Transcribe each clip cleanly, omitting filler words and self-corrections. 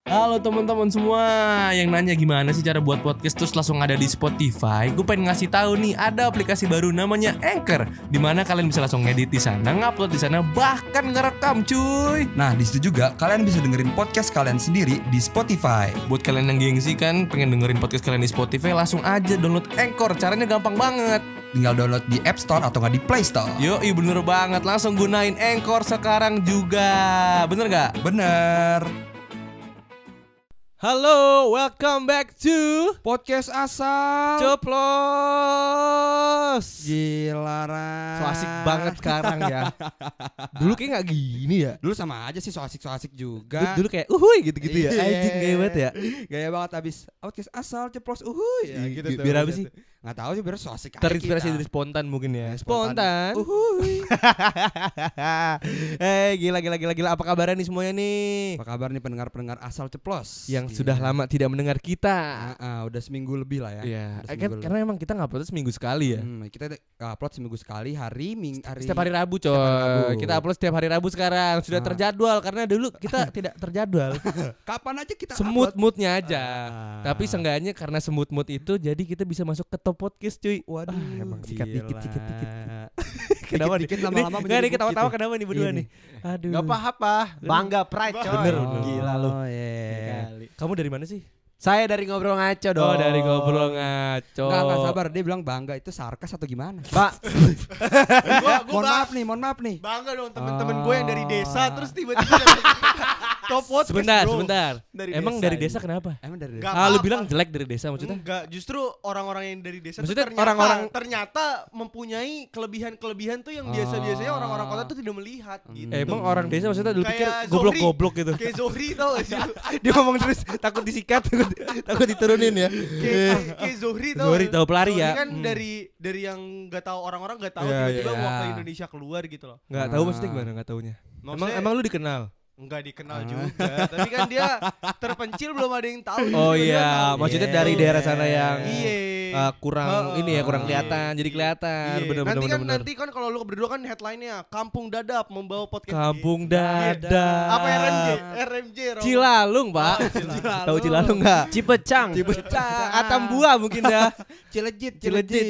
Halo teman-teman semua yang nanya gimana sih cara buat podcast terus langsung ada di Spotify. Gue pengen ngasih tahu nih, ada aplikasi baru namanya Anchor, dimana kalian bisa langsung ngedit di sana, ngupload di sana, bahkan ngerekam cuy. Nah di situ juga kalian bisa dengerin podcast kalian sendiri di Spotify. Buat kalian yang gengsi kan pengen dengerin podcast kalian di Spotify, langsung aja download Anchor. Caranya gampang banget. Tinggal download di App Store atau nggak di Play Store. Yoi bener banget, langsung gunain Anchor sekarang juga. Bener gak? Bener. Halo, welcome back to Podcast asal Ceplos. Gila Ran. So asik banget sekarang ya. Dulu kayak gak gini ya. Dulu sama aja sih, so asik juga. Dulu kayak uhuy gitu-gitu ya. Iya. Anjing gaya banget ya. Gaya banget abis podcast asal ceplos uhuy ya, gitu tuh. Biar apa sih? Nggak tahu sih, biar so asik aja Terinspirasi kita. dari spontan mungkin ya. Spontan. Uhuy. Gila. Apa kabarnya nih semuanya nih? Apa kabar nih pendengar-pendengar asal ceplos Yang sudah lama tidak mendengar kita. Udah seminggu lebih lah ya. Iya. Udah seminggu lebih. Karena emang kita ngupload seminggu sekali ya. Kita upload seminggu sekali hari Setiap hari Rabu coy. Setiap hari Rabu. Kita upload setiap hari Rabu sekarang. Sudah terjadwal karena dulu kita tidak terjadwal. Kapan aja kita Semut-mutnya aja. Tapi seenggaknya seenggaknya karena semut-mut itu jadi kita bisa masuk ke top podcast cuy. waduh, emang sikat dikit. Kenapa nih? dikit lama-lama Nggak menjadi nih ketawa-tawa bukit kenapa nih berdua Ini. nih? Aduh. Gak apa-apa, bangga pride coy. Bener. Gila lu. Oh iya. Kamu dari mana sih? Saya dari ngobrol ngaco dong. Oh dari ngobrol ngaco. Enggak sabar, dia bilang bangga itu sarkas atau gimana? Pak. Mohon maaf nih. Bangga dong temen-temen gue yang dari Oh. desa terus tiba-tiba dapet top podcast Sebentar. Dari Emang desa dari ini. desa kenapa? Emang dari Nggak Lu apa-apa. bilang jelek dari desa maksudnya? Enggak, justru orang-orang yang dari desa Maksudnya tuh orang-orang- ternyata mempunyai kelebihan-kelebihan tuh yang biasa-biasanya orang-orang kota tuh tidak melihat gitu. Emang orang desa maksudnya dulu pikir Kayak goblok-goblok gitu. Kayak Zohri tau gak sih? Dia ngomong terus takut disikat, takut diturunin ya. Kayak Zohri tau. Zohri tahu pelari Zohri ya. kan dari yang gak tahu orang-orang gak tahu Iya, tiba-tiba iya. waktu Indonesia keluar gitu loh. Nggak tahu maksudnya gimana nggak taunya. Maksudnya- Emang lu dikenal? Enggak dikenal juga, tapi kan dia terpencil belum ada yang tahu. Oh Dia iya, tahu. maksudnya Iya. dari daerah sana yang Iya. kurang ini ya, kurang kelihatan, jadi kelihatan. Iya. Bener. Nanti kan kalau lu berdua kan headline-nya Kampung Dadap membawa podcast. Kampung Iya. Dadap. Apa RMJ? Romo. Cilalung, Pak. Tahu Cilalung enggak? Cipecang. Atambua mungkin dah. Cilejit.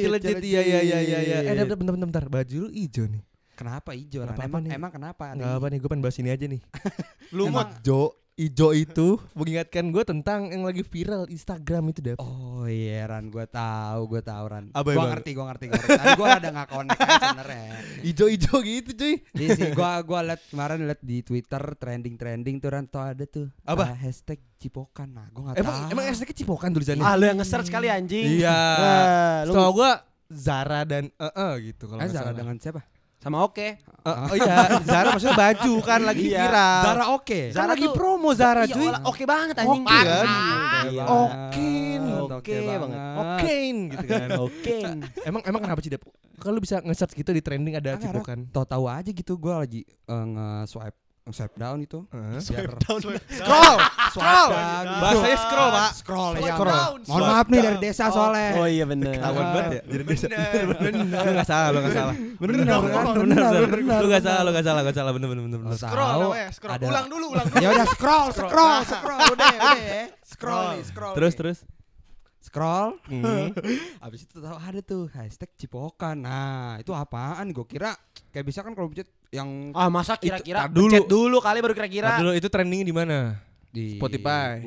Iya. Bentar. Baju lu hijau nih. Kenapa hijau? Nggak Ran? apa-apa nih. Emang kenapa? Enggak apa nih, gue pengen bahas ini aja nih. Lumut. Ijo itu mengingatkan gue tentang yang lagi viral Instagram itu, Dap. Oh iya Ran, gue tahu Ran. Apa Gue emang? ngerti. Tadi gue ada nggak connect aja sebenarnya. Ijo gitu, cuy. Iya sih, gue liat di Twitter trending tuh Ran, tuh ada tuh. Apa? Hashtag Cipokan. Nah, gue nggak tahu. Emang hashtagnya Cipokan tulisannya? Ah lu yang nge-search kali anjing. Iya. Lu Setahu gue Zara dan gitu kalau nggak Zara salah. dengan siapa? sama oke. Oh iya, Zara maksudnya baju kan lagi Iya. viral. Zara oke. Kan Zara lagi tuh- promo Zara, Iya, cuy. oke banget anjing. Oke kan? Gila. Oke banget. Okein gitu kan. Oke. Emang kenapa sih, Dap? Kalau lu bisa nge-search gitu di trending ada Enggak, Cipokan. Tahu-tahu aja gitu gue lagi nge-swipe down itu. Swipe Biar- down. Scroll. down. Bahasanya scroll, Pak. Scroll Swipe ya. down, Mohon swipe maaf nih down. dari desa soalnya. Oh iya bener. Ketahuan banget ya dari desa. Bener. Lu enggak salah. Lu enggak salah. Bener. Lu enggak salah. Bener. Scroll namanya, scroll. Ada- Ulang dulu. Ya udah scroll. Udah. Scroll. Terus. Scroll. Habis itu tahu ada tuh hashtag Cipokan. Nah, itu apaan? Gue kira kayak bisa kan kalau pencet yang Ah masa kira-kira Tar dulu. pencet dulu kali baru kira-kira. Dulu itu trendingnya di mana? di Spotify.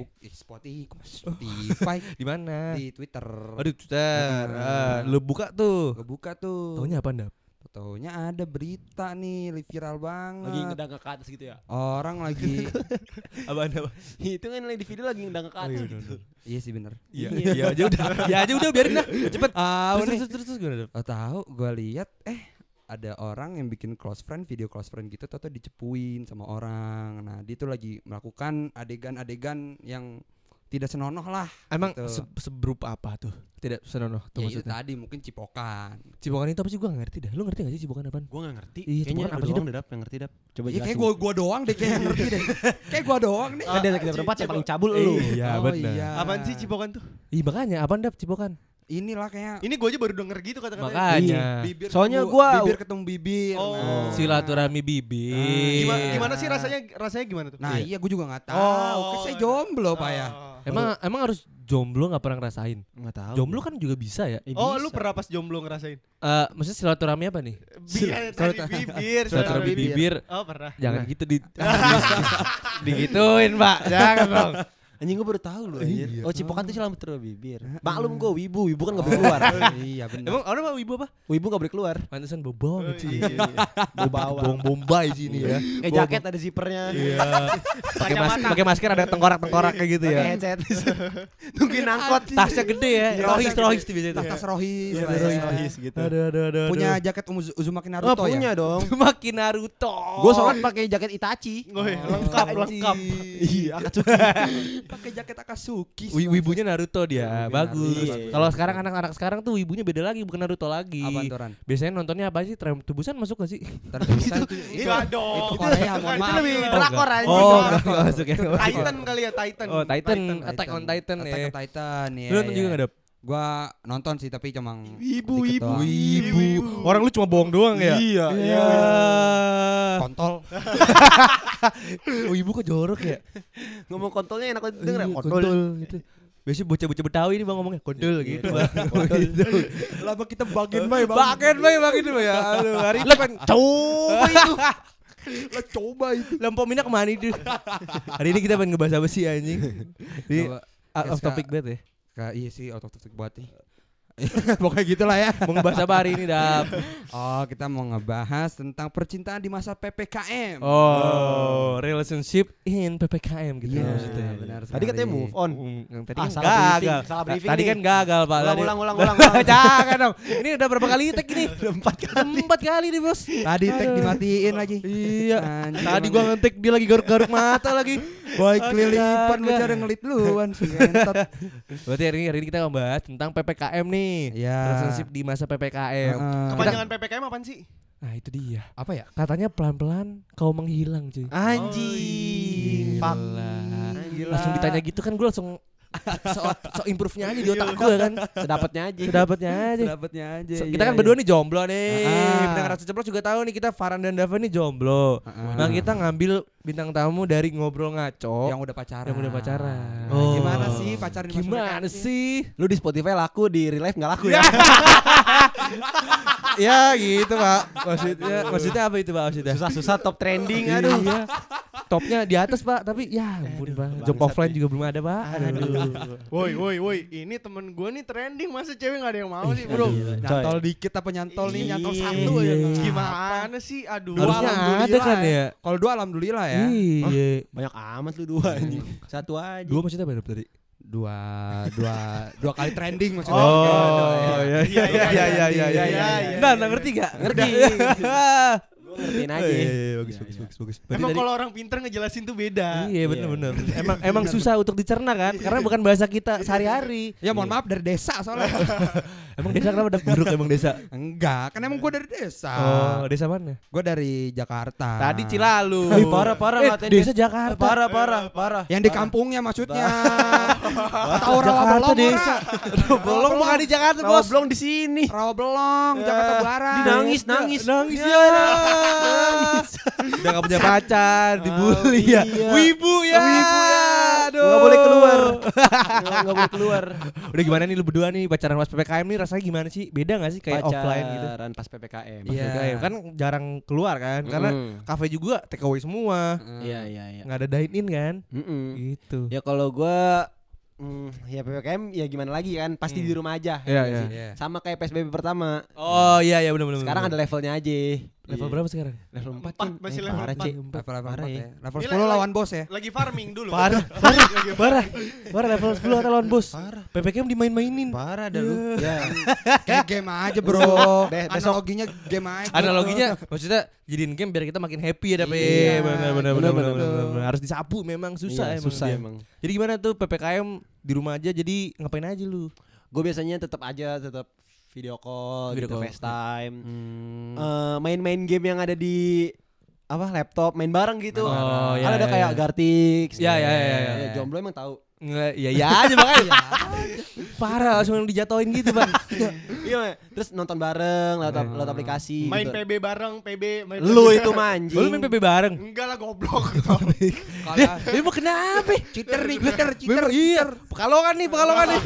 Spotify Di mana? di Twitter. Aduh, Twitter. Lu buka tuh. Gue buka tuh. Taunya apa, Dap? Taunya ada berita nih viral banget. Lagi ngedangak ke atas gitu ya. Orang lagi Apa? Itu kan di video lagi ngedangak ke atas gitu. iya sih bener. Iya aja udah biarin dah. Cepet. Terus gimana, Dap? Tahu gue lihat ada orang yang bikin video close friend gitu, atau dicepuin sama orang. Nah dia tuh lagi melakukan adegan-adegan yang tidak senonoh lah. Emang Gitu. seberupa apa tuh? Tidak senonoh tuh Ya itu maksudnya. tadi mungkin cipokan. Cipokan itu apa sih, gua gak ngerti dah. Lu ngerti gak sih cipokan apaan? Gua enggak ngerti. Iya, Kayaknya Cipokan apa lu sih, doang deh, Dap, yang ngerti, Dap. Coba Ya jelasin. kayak gue doang deh kayak yang ngerti deh. Kayak gue doang nih. Kan dari kita berempat yang paling cabul lu. Iya, Oh, benar. iya. Apaan sih Cipokan tuh? Ih, makanya apaan, Dap, cipokan? inilah kayak Ini gue aja baru denger gitu kata-katanya. Makanya bibir Soalnya ketemu- gua- bibir ketemu bibir. Oh. Nah. silaturahmi bibir. Gimana sih rasanya gimana tuh? Nah, iya gue juga enggak tahu. Oh, Saya jomblo, Pak ya. Emang harus jomblo nggak pernah ngerasain? Enggak tahu. Jomblo kan juga bisa ya. Oh, lu pernah pas jomblo ngerasain? Maksudnya silaturahmi apa nih? Tadi bibir. Silaturahmi bibir. Oh, pernah. Jangan gitu digituin, Pak. Jangan dong. Anjing gue baru tahu loh anjir. Oh, cipokan tuh selamat terus bibir. Maklum gue wibu kan enggak boleh keluar. Iya benar. Emang orang mah wibu apa? Wibu enggak boleh keluar. Pantesan bau bawang sih. Bau bawang. Bombay sini ya. Kayak jaket ada zippernya. Iya. Pakai masker ada tengkorak-tengkorak kayak gitu Pakai ya. headset. Tungguin angkot. Tasnya gede ya. Rohis tuh biasanya. Tas rohis. Iya, lah ya. rohis gitu. Aduh. Punya jaket Uzumaki Oh, Naruto ya? punya dong. Makin Naruto. Gue sholat pakai jaket Itachi. Oh, iya, lengkap. Iya, Pakai jaket Akatsuki. Wibunya Naruto dia, bagus. Iya. Kalau sekarang anak-anak sekarang tuh wibunya beda lagi, bukan Naruto lagi. Apaan tuh, Ran? Biasanya nontonnya apa sih? Tren Tubusan masuk gak sih? Enggak dong. Itu Korea, mohon Itu maaf. lebih Oh, drakor enggak. aja. Oh, enggak masuk ya. Titan kali ya, Titan. Oh, Titan, Attack on Titan ya. Attack on Titan ya. Lu nonton juga enggak, Dap? Gua nonton sih tapi cuma Wibu. Orang lu cuma bohong doang ya? Iya. Iya. kontol. Wibu kok jorok ya? Ngomong kontolnya enak denger. Iya, kontol gitu. Biasanya bocah-bocah Betawi ini Bang ngomongnya kontol gitu, Bang. Gitu. Lama kita bagian bae, Bagian ya. Aduh, hari ini pengen coba itu. Lah coba itu. Lampu minyak kemana itu? Hari ini kita pengen ngebahas apa sih anjing? Ini out of topic banget ya. Iya sih out of topic buat nih. Pokoknya gitulah ya. Mau ngebahas apa hari ini, Dap? Oh, kita mau ngebahas tentang percintaan di masa PPKM. Oh, relationship in PPKM gitu Iya, maksudnya. benar Tadi sekali. katanya move on. Yang tadi Ah, kan salah gagal. briefing, salah briefing Tadi nih. kan gagal, Pak. Tadi- Ulang. Jangan dong. Ini udah berapa kali tag ini? 4 kali nih, Bos. Tadi tag dimatiin lagi. Iya. Anjir, Tadi emang gua ngetik dia lagi garuk-garuk mata lagi. baik kelilipan Astaga. bicara ngelit duluan sih entot. Berarti hari ini kita membahas tentang PPKM nih. Iya. Relationship di masa PPKM. Kepanjangan PPKM apaan sih? Nah, itu dia. Apa ya? Katanya pelan-pelan kau menghilang, cuy. Anjing. Gila. Langsung ditanya gitu kan gue langsung so improve-nya aja di otak gue kan. Sedapatnya aja. Sedapatnya aja. Dapatnya aja. Kita kan berdua nih jomblo nih. Ah. Pendengar Rasa Ceplos juga tahu nih kita Farhan dan Dava nih jomblo. Nah, kita ngambil bintang tamu dari Ngobrol Ngaco yang udah pacaran. yang udah pacaran. Nah, gimana sih pacaran di masa Gimana PPKM? sih? Lu di Spotify laku, di real life enggak laku ya? Ya gitu, Pak. Maksudnya apa itu, Pak? Maksudnya? Susah-susah top trending aduh. Iya. Topnya di atas, Pak, tapi ya ampun, Pak. Job offline juga belum ada, Pak. Aduh. Woi, ini temen gue nih trending, masa cewek gak ada yang mau sih, bro? Nyantol dikit apa nyantol nih? Nyantol Iya. satu aja. Gimana sih? Aduh. Harusnya alhamdulillah ada kan ya? Kalau dua alhamdulillah ya. Iya. Banyak amat lu dua anjing. Satu aja. Dua maksudnya apa tadi? Dua kali trending maksudnya. iya. Nah, ngerti gak? Ngerti. Gua ngertiin aja. Bagus. Emang kalau orang pinter ngejelasin tuh beda. Iya benar. Emang susah untuk dicerna kan? Karena bukan bahasa kita sehari-hari. Ya mohon maaf dari desa soalnya. Emang desa kenapa ada buruk emang desa? Enggak, kan emang gue dari desa. Oh, desa mana? Gue dari Jakarta. Tadi Cilalu. Ih, parah ngatain desa Jakarta. Parah. Yang di kampungnya maksudnya. Tahu Jakarta Rawabelong desa. Belum bukan di Jakarta, Bos. Belum di sini. Rawabelong, Jakarta Barat. Nangis. Nangis ya. Udah gak punya pacar, dibully ya. iya. Wibu ya. Aduh. Enggak boleh keluar. Enggak boleh keluar. Udah gimana nih lu berdua nih pacaran pas PPKM nih rasanya gimana sih? Beda gak sih kayak offline gitu? Pacaran pas PPKM. Pas Iya. PPKM kan jarang keluar kan karena kafe juga take away semua. Iya. Nggak ada dine in kan? Gitu. Ya kalau gua ya PPKM ya gimana lagi kan pasti di rumah aja. Iya, ya iya. sih? Sama kayak PSBB pertama. Oh iya benar. Sekarang ada levelnya aja. level Iya. berapa sekarang? Level 4 Empat, masih level parah, empat. Cik. Level Parah 4 ya. ya. Level Ini 10 lawan bos ya. Lagi farming dulu. Parah level 10 atau lawan bos. Parah. PPKM dimain-mainin. Parah dah lu. Ya. Kayak game aja bro. Besok- Analoginya game aja. Analoginya maksudnya jadiin game biar kita makin happy ya tapi Iya. benar. Harus disapu memang susah Iya, emang. susah dia. emang. Jadi gimana tuh PPKM di rumah aja jadi ngapain aja lu? Gue biasanya tetap video call, Video gitu, call. FaceTime. Main-main game yang ada di laptop, main bareng gitu. Oh, Kan iya, ada iya, kayak iya. Gartix. Iya. Ya, jomblo emang tahu. Nggak, ya aja makanya. Parah langsung dijatoin gitu, Bang. Iya, terus nonton bareng lewat aplikasi. Main gitu. PB bareng, main Lu PB. itu manjing. Lu main PB bareng. Enggak lah goblok. Kalah. Emang kenapa? Cheater nih, cheater. Iya. Pekalongan nih.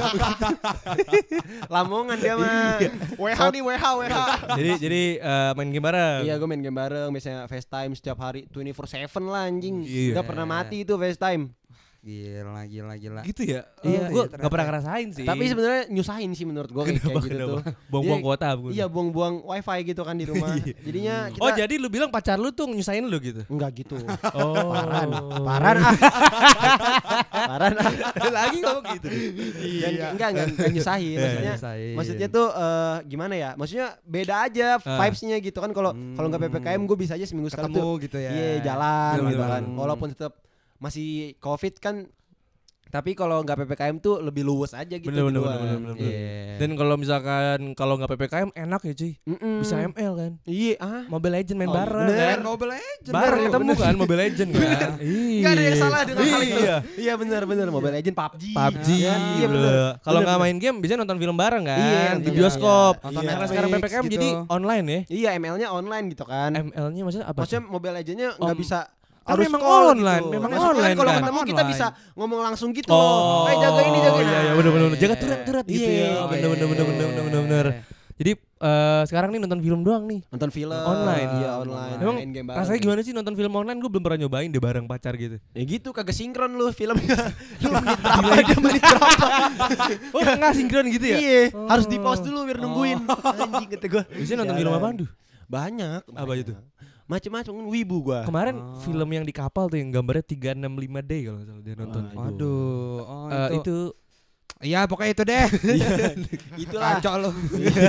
Lamongan dia mah. WH nih, WH. Jadi main game bareng. Iya, gue main game bareng, biasanya FaceTime setiap hari 24/7 lah anjing. Iya. Gak pernah mati itu FaceTime. Gila. Gitu ya. Iya, Gue iya, nggak pernah ngerasain sih. Tapi sebenarnya nyusahin sih menurut gue kayak gitu tuh. Buang-buang Dia- kuota. bukan? Iya, buang-buang wifi gitu kan di rumah. Jadinya kita Oh jadi lu bilang pacar lu tuh nyusahin lu gitu? enggak gitu. Oh. Paran ah. Paran ah. Lagi ngomong gitu. Enggak nyusahin maksudnya. Maksudnya tuh gimana ya? Maksudnya beda aja vibes-nya gitu kan kalau nggak PPKM gue bisa aja seminggu sekali Ketemu tuh. gitu ya. Iya, jalan Bener, gitu bener, kan. bener. Walaupun tetap masih Covid kan, tapi kalau nggak PPKM tuh lebih luwes aja gitu. Bener. berdua. Iya. Dan kalau misalkan kalau nggak PPKM enak ya cuy. Mm-mm. Bisa ML kan. Iya, Mobile Legend main Oh, bareng bener. kan. Mobile Legends. Bareng bro, ketemu bener. kan Mobile Legend kan. Nggak ada yang salah dengan hal itu. Iya. Iya benar Mobile Legend, PUBG. PUBG. Iya benar. Kalau Bener, nggak bener. main game bisa nonton film bareng kan Iya, di nonton bioskop. iya. Nonton Karena Netflix sekarang PPKM gitu. jadi online ya. Iya, ML-nya online gitu kan. ML-nya maksudnya apa? Maksudnya tuh? Mobile Legends-nya nggak bisa Kan harus memang call online, gitu. memang Maksudnya online kalau kan. ketemu kita Online. bisa ngomong langsung gitu Oh, loh. Jaga ini jaga ini. Iya, bener. Jaga Iya. turat gitu Iya, ya. iya. Bener. Jadi sekarang nih nonton film doang nih. Nonton film Online. Iya, online. Emang Main game bareng. rasanya gimana sih nonton film online? Gue belum pernah nyobain deh bareng pacar gitu. Ya gitu kagak sinkron lu filmnya. Lu menit berapa dia menit berapa. Oh nggak sinkron gitu ya? Iya, harus di pause dulu biar nungguin. Anjing kata gua. Biasanya nonton film apaan tuh? Banyak. Apa itu? Macem-macem wibu gua. Kemarin film yang di kapal tuh yang gambarnya 365 day kalau nggak salah dia nonton. Aduh. Oh, Itu Iya, pokoknya itu deh. Itulah. Kacau lu.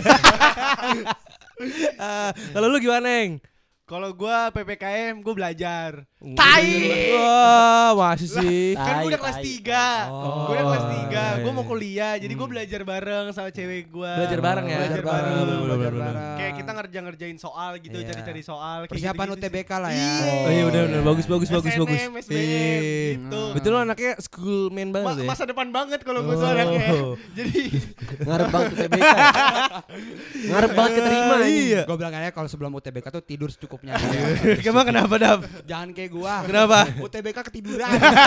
kalau lu gimana, Eng? Kalau gua PPKM gua belajar. Tai. Wah, masih sih. Kan gua udah Tai, kelas tai. 3. Gua udah kelas 3. Gua mau iya. kuliah, jadi gua belajar bareng sama cewek gua. Belajar bareng ya? Belajar Belajar bareng. bareng. Bener. Kayak kita ngerjain soal gitu, Iya. cari-cari soal kayak Persiapan gitu-gitu sih. UTBK lah ya. Oh iya benar bagus. SNM, SBM, Iya. gitu. Betul lo anaknya school man banget ya. Masa depan banget kalau gua soalnya. Jadi Ngarep banget UTBK. Ngarep banget keterima Iya. Gue bilang aja kalau sebelum UTBK tuh tidur secukupnya. Emang kenapa, Dap? Jangan kayak gua. Kenapa? UTBK ketiduran.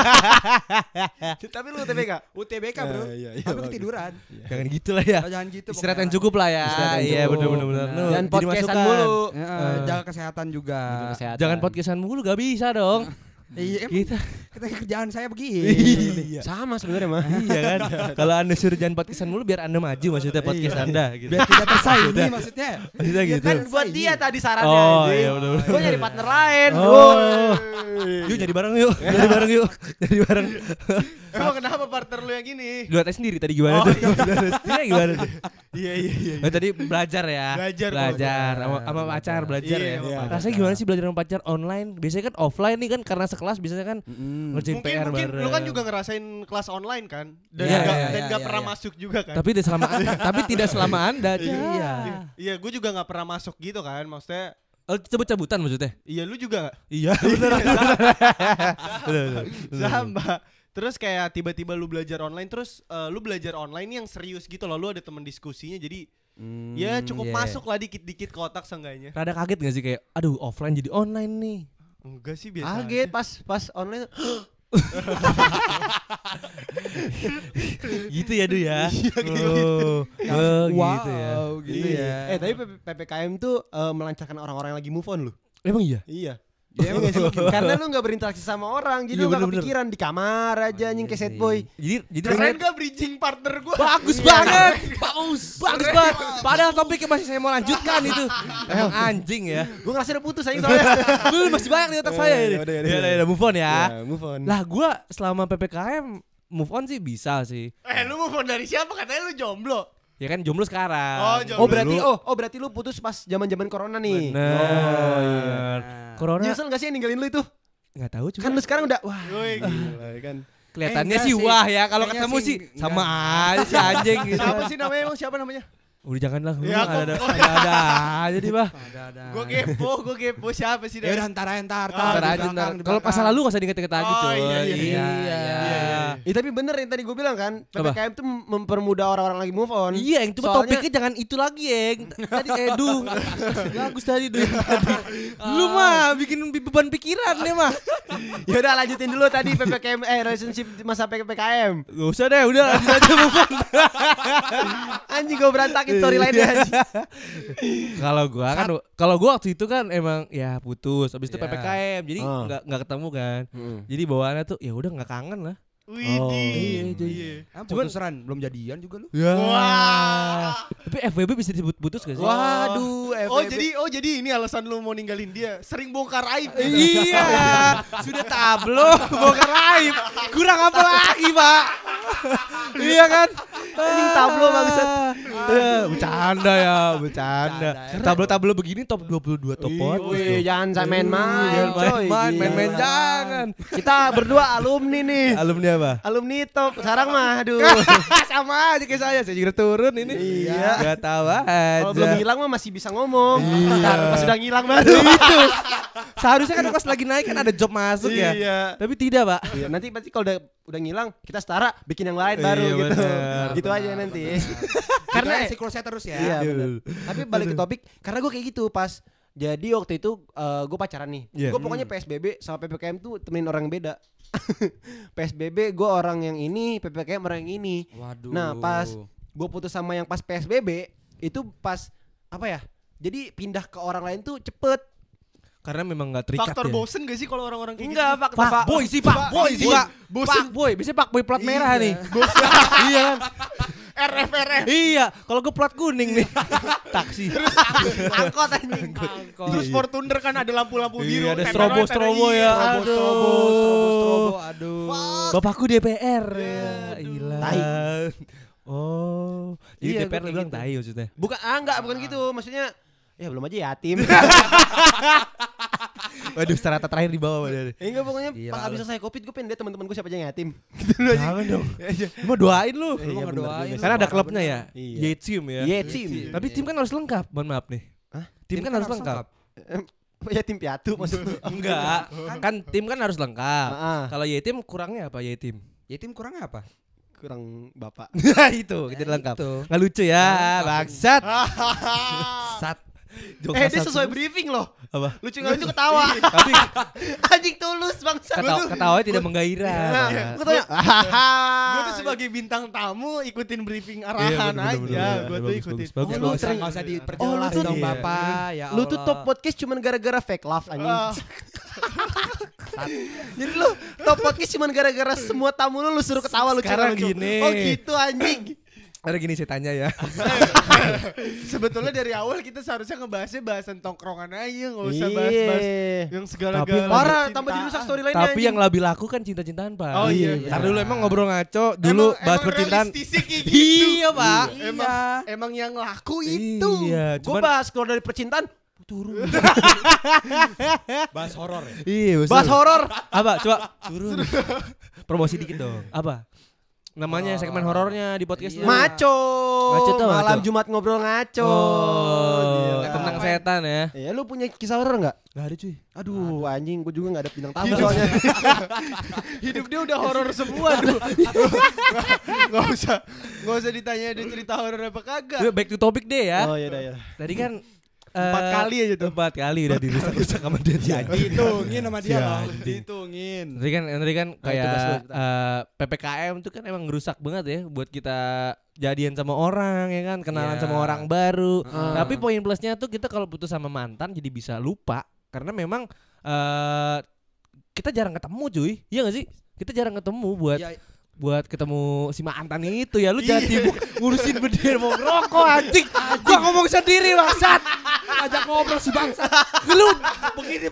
Tapi lu UTBK. UTBK bro. Tapi ketiduran. Jangan gitu lah ya. Jangan gitu. Istirahat yang pokoknya. cukup lah ya. Istirahat yang Iya cukup. benar. Nah. Dan podcastan mulu. Ya, jaga kesehatan juga. Kesehatan. Jangan podcastan mulu gak bisa dong. Iya, emang Kita kerjaan saya begini. Sama sebenarnya mah. iya kan. Kalau Anda suruh jangan podcastan mulu biar Anda maju maksudnya podcast Anda gitu. Biar tidak tersaingi maksudnya. Maksudnya Biar gitu. kan Buat dia tadi sarannya. Oh anjing. iya benar. Gua nyari partner lain. Oh. Yuk jadi bareng yuk. Jadi bareng. emang kenapa partner lu yang gini? Lu tes sendiri tadi gimana tuh? Dia gimana tuh? Iya. Oh, tadi belajar ya. Belajar sama pacar belajar Iya, ya. sama pacar. Rasanya gimana sih belajar sama pacar online? Biasanya kan offline nih kan karena sekelas biasanya kan ngerjain PR Mungkin bareng. lu kan juga ngerasain kelas online kan dan Iya, nggak iya, pernah iya. masuk juga kan. tapi tidak selama Anda aja. Iya. Iya, gue juga nggak pernah masuk gitu kan. Maksudnya, Oh, cabut-cabutan maksudnya? iya lu juga nggak? Iya, benar. Sama. Terus kayak tiba-tiba lu belajar online, terus lu belajar online yang serius gitu loh. Lu ada teman diskusinya, jadi ya cukup masuk lah dikit-dikit ke otak seenggaknya. Rada kaget gak sih kayak aduh offline jadi online nih. Enggak sih, biasa. Kaget aja. pas online. Gitu ya, Du ya. Wow, Gitu ya. gitu ya. Tapi PPKM tuh melancarkan orang-orang yang lagi move on lu. Emang iya? Iya. Ya, emang Karena lu gak berinteraksi sama orang, jadi Iya, lu gak bener-bener. kepikiran di kamar aja anjing kayak sad boy. Jadi Keren gak bridging partner gue? bagus banget. Bagus banget. Padahal topiknya masih saya mau lanjutkan itu. Emang anjing ya. Gue ngerasa udah putus aja soalnya. Dulu masih banyak di otak saya ini. Ya, move on ya. Move on. Lah gua selama PPKM move on sih bisa sih. Lu move on dari siapa? Katanya lu jomblo. Ya kan jomblo sekarang. Oh, jomblo. berarti lu putus pas zaman-zaman corona nih. Bener. Oh iya. Corona Nyesel gak sih yang ninggalin lu itu? nggak tahu cuma Kan lu sekarang udah wah. Woi, gila. kan. kelihatannya enggak sih sih. wah ya kalau Kayaknya ketemu sih sih sama enggak. aja si anjing gitu. Siapa sih namanya emang? Siapa namanya? Udah janganlah. Ya, ada aja nih, Bah. Ada. Gue kepo siapa sih? Ya udah ntar Ntar di aja belakang. Kalau masa lalu enggak usah diinget-inget lagi, Oh, coy. iya. Tapi bener yang tadi gue bilang kan, PPKM tuh mempermudah orang-orang lagi move on. Iya, yang itu Soalnya- topiknya jangan itu lagi, Eng. Tadi bagus tadi tuh. Lu mah bikin beban pikiran deh mah. Ya udah lanjutin dulu tadi PPKM relationship di masa PPKM. Gak usah deh, udah lanjut aja beban. Anjing gue berantakin storyline-nya anjing. Kalau gua waktu itu kan emang ya putus, habis itu Iya. PPKM. Jadi enggak ketemu kan. Jadi bawaannya tuh ya udah enggak kangen lah. Widih. Iya. Putusan belum jadian juga lu. Ya. Wah. Tapi FWB bisa disebut putus gak sih? Waduh, Jadi ini alasan lu mau ninggalin dia. Sering bongkar aib. Iya, sudah tablo, bongkar aib. Kurang apa lagi, Pak? Iya kan? Anjing tablo bangsat. Bercanda. Tablo-tablo begini top 22 top podcast. Wih, jangan main-main, coy. Main-main Gila. jangan. Kita berdua alumni nih. Alumni apa? Alumni top. Sekarang mah aduh. Sama aja kayak saya juga turun ini. Iya. Gak tahu aja. Kalau belum hilang mah masih bisa ngomong. Iya. Ntar pas udah ngilang baru. Itu. Seharusnya kan pas lagi naik kan ada job masuk ya. Iya. Tapi tidak, Pak. Iya, nanti pasti kalau udah ngilang kita setara bikin yang lain baru Iya, gitu. benar. Gitu aja nanti. Karena Karena siklusnya terus ya. iya benar. Tapi balik ke topik karena gue kayak gitu pas jadi waktu itu gue pacaran nih. Iya. Gue pokoknya PSBB sama PPKM tuh temenin orang yang beda. PSBB gue orang yang ini, PPKM orang yang ini. Waduh. Nah, pas gue putus sama yang pas PSBB itu pas apa ya? Jadi pindah ke orang lain tuh cepet. Karena memang gak terikat Faktor ya. bosen gak sih kalau orang-orang kayak Enggak, gitu? Pak. Boy sih, Pak Boy. Biasanya Pak Boy plat merah nih. Iya kan? RF. Iya, kalau gue plat kuning nih. Taksi. Angkot anjing. Terus Fortuner kan ada lampu-lampu biru. Iya, ada Tempelan strobo ada- ya. Strobo. Aduh. Bapakku DPR ya. Gila. Tai. Oh, Iya, jadi DPR gua lu kayak bilang gitu. tai maksudnya. Bukan gitu. Maksudnya ya belum aja yatim. Waduh, strata terakhir di bawah dari. Enggak pokoknya Gila pas lu. habis selesai Covid gue pengen lihat teman-teman gue siapa aja yang yatim. Jangan dong. Lu mau doain lu. Iya, mau bener doain. juga. Karena ada klubnya ya. Iya. Yetim ya. Yatim. Tapi tim kan harus lengkap. Mohon maaf nih. Hah? Tim kan harus lengkap. Yatim piatu maksudnya. Enggak. Kan tim kan harus lengkap. Ah. Kalau yatim kurangnya apa yatim? Yatim kurangnya apa? Kurang bapak. Itu, kita lengkap. itu. Nggak lucu ya, bangsat. Sat. Dia sesuai briefing loh. Apa? Lucu nggak lucu ketawa. Tapi Anjing tulus bangsa. ketawanya tidak menggairah. Pak. Gue tanya. Gue tuh sebagai bintang tamu ikutin briefing arahan bener, bener, aja. bener. Gue tuh Bagus, ikutin. bagus, bagus. Oh, lu sering- Nggak usah Oh, diperjelas lu tuh- dong iya. Bapak. Ya Lu tuh Allah. top podcast cuman gara-gara fake love anjing. Ah. Jadi lu top podcast cuman gara-gara semua tamu lu suruh ketawa lucu. Sekarang lucu. gini. Oh gitu anjing. Ada gini saya tanya ya. Sebetulnya dari awal kita seharusnya ngebahasnya bahasan tongkrongan aja, nggak usah bahas-bahas yang segala-gala. Tapi- Parah, tambah dirusak storyline-nya. Tapi yang lebih laku kan cinta-cintaan, Pak. Oh, iya. Karena dulu emang ngobrol ngaco, dulu bahas percintaan. realistisnya kayak gitu. Iya, Pak. Emang yang laku itu. Iya, Gue cuman bahas keluar dari percintaan turun. Bahas horor ya. iya, Bahas horor. Apa? Coba turun. Promosi dikit dong. Apa? Namanya segmen horornya di podcast Iya. Maco. Ngaco tuh, Malam Maco. Jumat ngobrol ngaco. Oh, Gila. tentang setan ya. Iya, lu punya kisah horor enggak? Gak ada cuy. Aduh, anjing, gue juga enggak ada bintang tamu soalnya. Hidup dia udah horor semua tuh. Gak usah ditanya dia cerita horor apa kagak. Back to topic deh ya. Oh, iya dah ya. Tadi kan 4 kali aja tuh. 4 kali udah dirusak-rusak sama dia si anjing. Dihitungin sama dia Si loh. anjing. Dihitungin. Tadi kan kayak tugas lu, PPKM itu kan emang ngerusak banget ya buat kita jadian sama orang ya kan, kenalan Iya. sama orang baru. Ah. Tapi poin plusnya tuh kita kalau putus sama mantan jadi bisa lupa karena memang kita jarang ketemu cuy. Iya gak sih? Kita jarang ketemu Ya, buat ketemu si mantan itu ya. Lu jangan sibuk ngurusin berdiri mau ngerokok anjing. Gua ngomong sendiri bangsat. ajak ngobrol si bangsa. Lu Begini.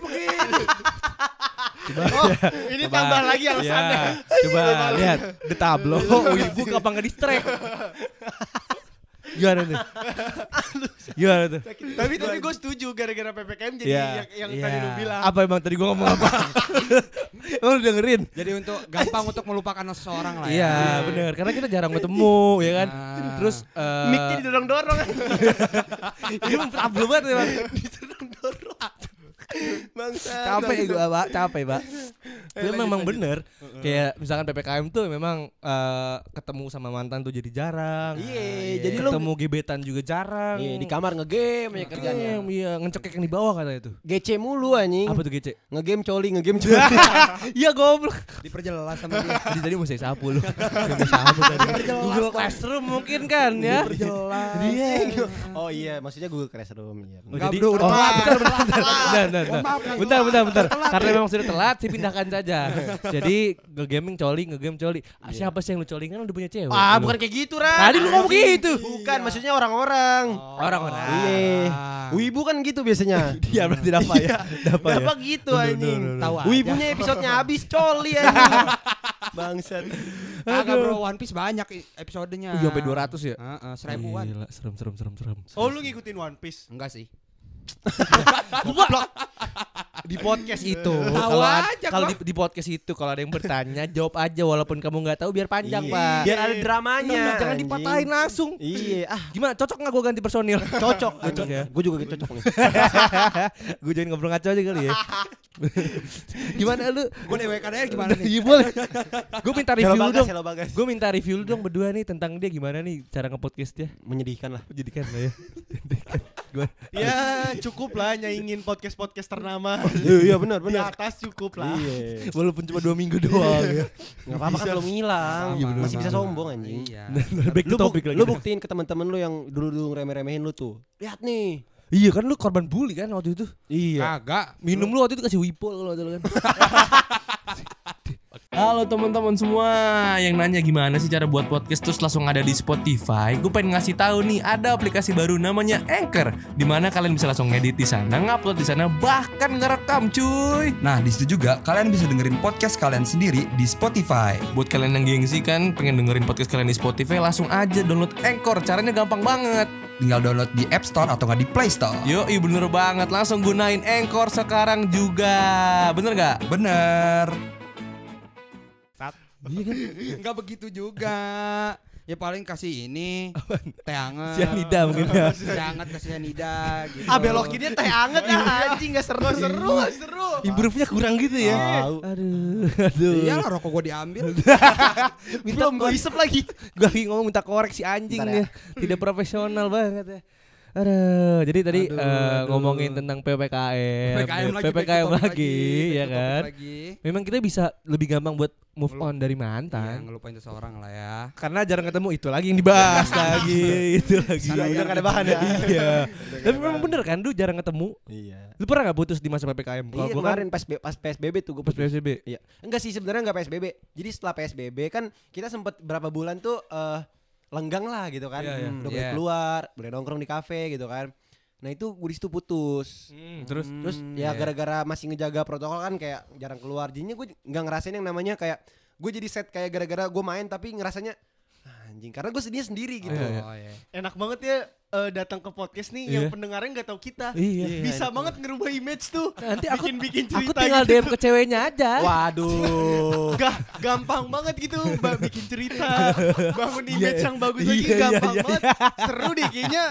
Oh, ini tambah lagi alasannya. Ya, coba lihat the tablo. Wibu kapan nggak distrek. Gimana tuh? Gimana tuh? Tapi gue setuju gara-gara PPKM jadi yang tadi lu bilang. Apa emang tadi gua ngomong apa? Lu dengerin? Jadi gampang untuk melupakan seseorang lah ya. Iya, benar. Karena kita jarang ketemu, ya kan? Terus Mic-nya didorong-dorong. ini problem banget ya, Bang. Didorong-dorong. Bangsa. Capek gua, Pak. Capek, Pak. Itu memang bener. Kayak misalkan PPKM tuh memang ketemu sama mantan tuh jadi jarang. Iya, jadi lu ketemu gebetan juga jarang. di kamar ngegame ya kerjanya. Iya, ngecekek yang di bawah katanya tuh. GC mulu anjing. Apa tuh GC? Ngegame coli. Iya, goblok. Diperjelas sama dia. Tadi mau saya sapu lu. Mau sapu tadi. Google Classroom mungkin kan ya. Diperjelas. Iya. Oh iya, maksudnya Google Classroom ya. Oh, jadi udah telat. Bentar. Karena memang sudah telat, sih pindahkan saja. Jadi ngegame coli. Siapa sih yang lu coli kan udah punya cewek? Bukan kayak gitu, Ran. Tadi lu ngomong gitu. Bukan, maksudnya orang-orang. Orang-orang. Iya. Wibu kan gitu biasanya. Dia berarti dapat ya. Dapat gitu anjing. Tahu aja. Wibunya episodenya habis coli anjing. Bangsat. Agak bro, One Piece banyak episodenya. Sampai 200 ya? 1000-an. Gila, serem. Oh, lu ngikutin One Piece? Enggak sih. Di podcast itu Tahu aja kalau gua. di podcast itu kalau ada yang bertanya jawab aja walaupun kamu nggak tahu biar panjang, Iya. Pak. Biar ada dramanya. Jangan anjing. dipatahin langsung. Iya. Gimana? Cocok nggak gue ganti personil? Cocok. ya. Gue juga cocok nih. Gue jangan ngobrol ngaco aja kali ya. Gimana lu? Gue DWKDR gimana nih? Iya boleh. Gue minta review lu dong. Hello Bagas. Gue minta review lu dong berdua nih tentang dia gimana nih cara nge-podcast dia. Menyedihkan lah. Jadikan lah ya. Gimana? Ya cukup lah nyaingin podcast ternama. Iya benar. Di atas cukup lah. Iya. Walaupun cuma 2 minggu doang ya. Enggak apa-apa kan belum hilang. Iya, bener. Masih bisa sombong anjing. Iya. Back to topic lagi. Lu buktiin ke teman-teman lu yang dulu remeh-remehin lu tuh. Lihat nih. Iya kan lu korban bully kan waktu itu. Iya. Kagak. Minum lu waktu itu kasih Wipol kalau waktu itu kan. Halo teman-teman semua yang nanya gimana sih cara buat podcast terus langsung ada di Spotify. Gue pengen ngasih tahu nih ada aplikasi baru namanya Anchor, dimana kalian bisa langsung ngedit di sana, ngupload di sana, bahkan ngerekam cuy. Nah, di situ juga kalian bisa dengerin podcast kalian sendiri di Spotify. Buat kalian yang gengsi kan pengen dengerin podcast kalian di Spotify, langsung aja download Anchor. Caranya gampang banget. Tinggal download di App Store atau nggak di Play Store. Yoi bener banget, langsung gunain Anchor sekarang juga. Bener gak? Bener. Enggak begitu juga. Ya paling kasih ini teh hangat. Cyanida mungkin ya. Teh hangat kasih cyanida gitu. Belokinnya teh anget anjing enggak seru. Seru. Improve-nya kurang gitu ya. Tahu. Aduh. Iyalah rokok gue diambil. Belum gue isep lagi. Gue lagi ngomong minta koreksi anjing Bentar ya. ya. Tidak profesional banget ya. Aduh, jadi tadi ngomongin tentang PPKM lagi, ya kan. Memang kita bisa lebih gampang buat move on dari Iya, mantan. ngelupain seseorang lah ya. Karena jarang ketemu itu lagi yang dibahas lagi, itu lagi. Udah gak ada bahan ya. Iya. Tapi memang bener kan, lu jarang ketemu. Iya. Lu pernah gak putus di masa PPKM? Kalau Iya gua kan kemarin pas PSBB tuh gue pas PSBB. Iya. Enggak sih sebenarnya enggak PSBB. Jadi setelah PSBB kan kita sempet berapa bulan tuh lenggang lah gitu kan. Iya, iya. Udah boleh keluar, boleh nongkrong di kafe gitu kan. Nah itu gue di situ putus. Terus Ya gara-gara masih ngejaga protokol kan kayak jarang keluar. Jadinya gue nggak ngerasain yang namanya kayak gue jadi set kayak gara-gara gue main tapi ngerasanya anjing karena gue sedihnya sendiri gitu. Oh, iya. Enak banget ya datang ke podcast nih yang pendengarnya nggak tahu kita. Iya. Bisa banget ngerubah image tuh. nanti aku bikin aku cerita tinggal gitu. DM ke ceweknya aja. Waduh. Gampang banget gitu bikin cerita, bangun image yang bagus lagi Iya, gampang iya, banget. Seru deh kayaknya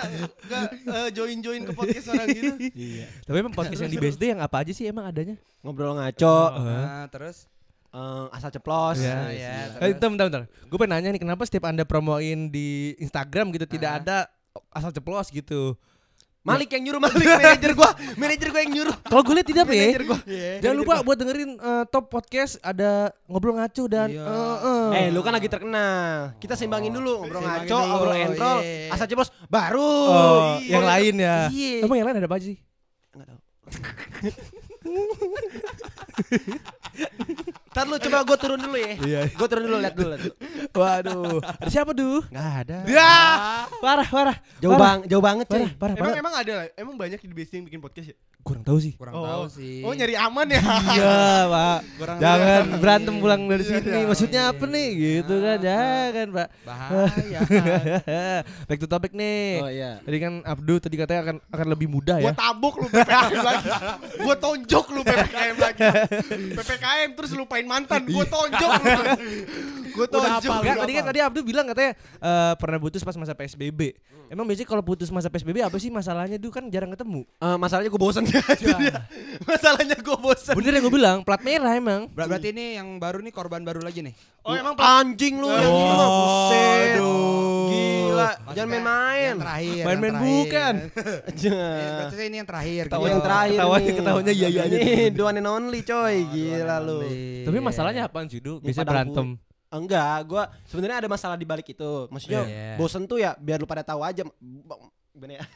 join ke podcast orang gitu. Tapi emang podcast yang di BSD yang apa aja sih emang adanya? Ngobrol ngaco, Nah, terus asal ceplos. Iya. ya. Bentar. Gue pengen nanya nih kenapa setiap Anda promoin di Instagram gitu tidak ada asal ceplos gitu. Malik yang nyuruh, manajer gua yang nyuruh. Kalau gue lihat tidak ya. Manajer gua. Jangan lupa buat dengerin top podcast ada ngobrol ngaco dan Lu kan lagi terkenal. Kita seimbangin dulu ngobrol Seimbangin ngaco, dulu, ngobrol entrol, iya. asal ceplos baru. yang lain ya. Iya. Emang yang lain ada apa aja sih? Enggak tahu. Ntar lu coba gue turun dulu ya. Iya. Gue turun dulu lihat dulu. Waduh, ada siapa tuh? Enggak ada. Ya. Parah. Jauh banget coy. Parah. Emang ada emang banyak di BSD yang bikin podcast ya? Kurang tahu sih. Kurang tahu sih. Oh, nyari aman ya. Iya, Pak. Kurang Jangan berantem pulang dari Iya, sini. Maksudnya apa nih? Gitu kan. Jangan, Pak. bahaya. Back to topic nih. Oh iya. Tadi kan Abdu tadi katanya akan lebih mudah Gua ya. tabuk lu PPKM lagi. Gua tonjok lu PPKM lagi. PPKM terus lupain mantan. Gua tonjok lu. Gua tonjok. Enggak, tadi Abdu bilang katanya pernah putus pas masa PSBB. Emang biasanya kalau putus masa PSBB apa sih masalahnya? Duh kan jarang ketemu. Masalahnya gue bosen Masalahnya gue bosen. Bener yang gue bilang, plat merah emang. Berarti ini yang baru nih korban baru lagi nih. Oh, emang Anjing lu yang ini mah buset. Aduh. Gila, Maksudnya jangan main-main. Yang terakhir. Main-main yang terakhir. bukan. Berarti ini yang terakhir. Tahu gitu. yang terakhir nih. Ketawanya iya aja. Ini the one and only coy. Gila lu. Tapi masalahnya apaan sih, Du? Biasanya padang berantem. Enggak, gue sebenarnya ada masalah di balik itu. Maksudnya Iya. bosen tuh ya biar lu pada tahu aja. Gimana ya?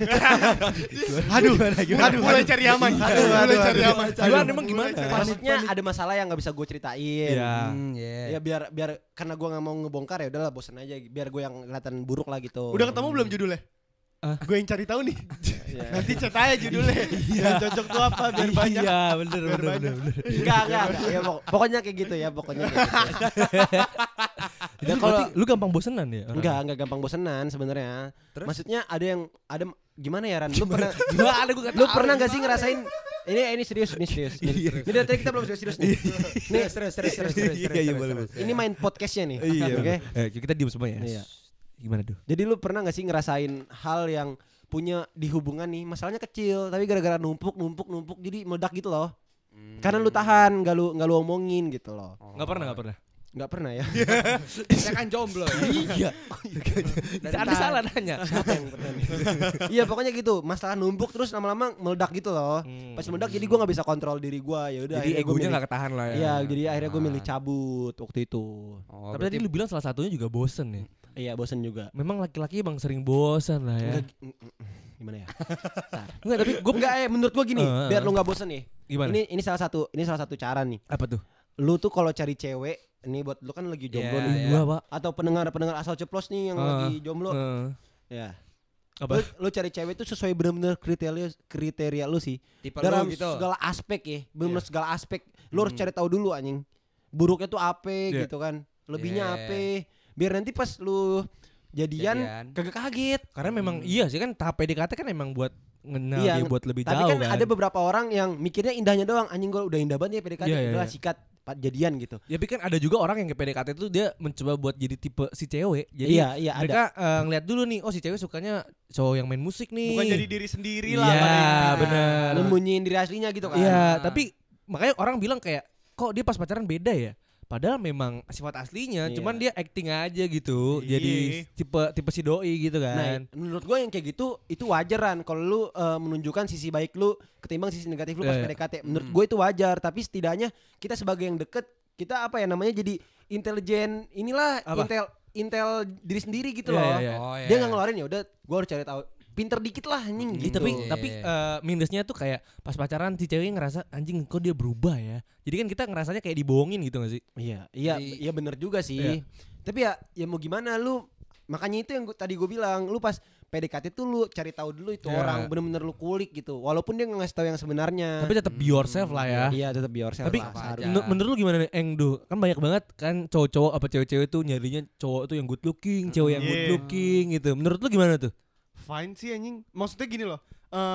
Aduh, mulai cari aman. Mulai cari aman. Gimana emang gimana? Maksudnya ada masalah yang nggak bisa gue ceritain. Iya. Ya biar karena gue nggak mau ngebongkar ya udahlah bosen aja. Biar gue yang kelihatan buruk lah gitu. Udah ketemu belum judulnya? Gue yang cari tahu nih. Iya. Nanti chat aja judulnya. Yang cocok tuh apa biar banyak. Iya, bener. Enggak. Ya, pokoknya kayak gitu ya, pokoknya kayak gitu. Ya, kalau lu gampang bosenan ya? Enggak gampang bosenan sebenarnya. Maksudnya ada gimana ya Ran? Lu pernah Gimana gua lu pernah enggak sih ngerasain ini serius. Ini dari tadi kita belum serius nih. Nih serius. Iya, boleh. Ini main podcastnya nih. Iya, Oke. Kita diem semua ya. Iya. Gimana tuh? Jadi lu pernah enggak sih ngerasain hal yang punya di hubungan nih, masalahnya kecil tapi gara-gara numpuk jadi meledak gitu loh. Karena lu tahan, enggak lu omongin gitu loh. Enggak pernah. Enggak pernah ya. Saya kan jomblo. Iya. Anda salah nanya. Siapa yang pernah nih? Iya pokoknya gitu, masalah numpuk terus lama-lama meledak gitu loh. Pas meledak jadi gue nggak bisa kontrol diri gue, ya udah. Jadi egonya nggak ketahan lah ya. Iya, jadi akhirnya gue milih cabut waktu itu. Tapi tadi lu bilang salah satunya juga bosen ya. Iya bosen juga. Memang laki-laki emang sering bosen lah ya. Gimana ya? Enggak, tapi gue Enggak menurut gue gini, biar lu nggak bosen nih. Gimana? Ini salah satu cara nih. Apa tuh? Lu tuh kalau cari cewek, ini buat lu kan lagi jomblo Iya, nih. Gua, Pak. Atau pendengar asal ceplos nih yang lagi jomblo. Ya. Apa? Lu cari cewek itu sesuai benar-benar kriteria lu sih. Tipe Dalam lu gitu. segala aspek ya, benar-benar segala aspek. Lu harus cari tahu dulu anjing. Buruknya tuh apa gitu kan. Lebihnya apa. Biar nanti pas lu jadian kagak kaget. Karena memang iya sih kan tahap PDKT kan emang buat ngenal Iya, dia buat lebih tapi jauh kan ada beberapa orang yang mikirnya indahnya doang. Anjing gua udah indah banget ya PDKT, Iya, iya, udah iya. sikat jadian gitu. Ya tapi kan ada juga orang yang ke PDKT itu dia mencoba buat jadi tipe si cewek. Jadi Iya, mereka ngeliat dulu nih, oh si cewek sukanya cowok yang main musik nih. Bukan jadi diri sendiri lah. Iya, benar. Nyembunyiin diri aslinya gitu kan. Iya, tapi makanya orang bilang kayak kok dia pas pacaran beda ya? Padahal memang sifat aslinya, Iya. cuman dia acting aja gitu. Iya. Jadi tipe si doi gitu Nah, kan. menurut gue yang kayak gitu itu wajaran kalau lu menunjukkan sisi baik lu ketimbang sisi negatif lu pas Iya. PDKT. Menurut gue itu wajar, tapi setidaknya kita sebagai yang deket, kita apa ya namanya jadi intelijen inilah Apa? intel diri sendiri gitu Iya, loh. iya, iya. Oh, iya. Dia nggak ngeluarin ya udah gue harus cari tahu. Pinter dikit lah anjing Ih, gitu. tapi minusnya tuh kayak pas pacaran si cewek ngerasa anjing kok dia berubah ya. Jadi kan kita ngerasanya kayak dibohongin gitu gak sih? Iya bener juga sih. Tapi ya mau gimana lu, makanya itu yang tadi gue bilang, lu pas PDKT tuh lu cari tahu dulu itu Iya. orang, bener-bener lu kulik gitu. Walaupun dia nggak ngasih tahu yang sebenarnya. Tapi tetap be yourself lah ya. Iya tetap be yourself Tapi lah, apa seharusnya. aja. menurut lu gimana nih Engdu? Kan banyak banget kan cowok-cowok apa cewek-cewek tuh nyarinya cowok tuh yang good looking, cewek yang good Iya. looking gitu. Menurut lu gimana tuh? Fine sih anjing. Maksudnya gini loh.